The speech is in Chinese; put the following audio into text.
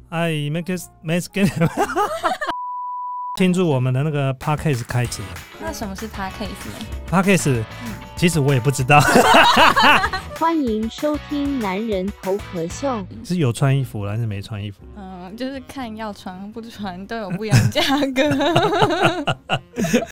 I make it庆祝我们的那个 Podcast 开始了。 那什么是 Podcast 呢？ Podcast，其实我也不知道。 欢迎收听男人头壳秀。 是有穿衣服还是没穿衣服？ 就是看要穿不穿都有不一样的价格。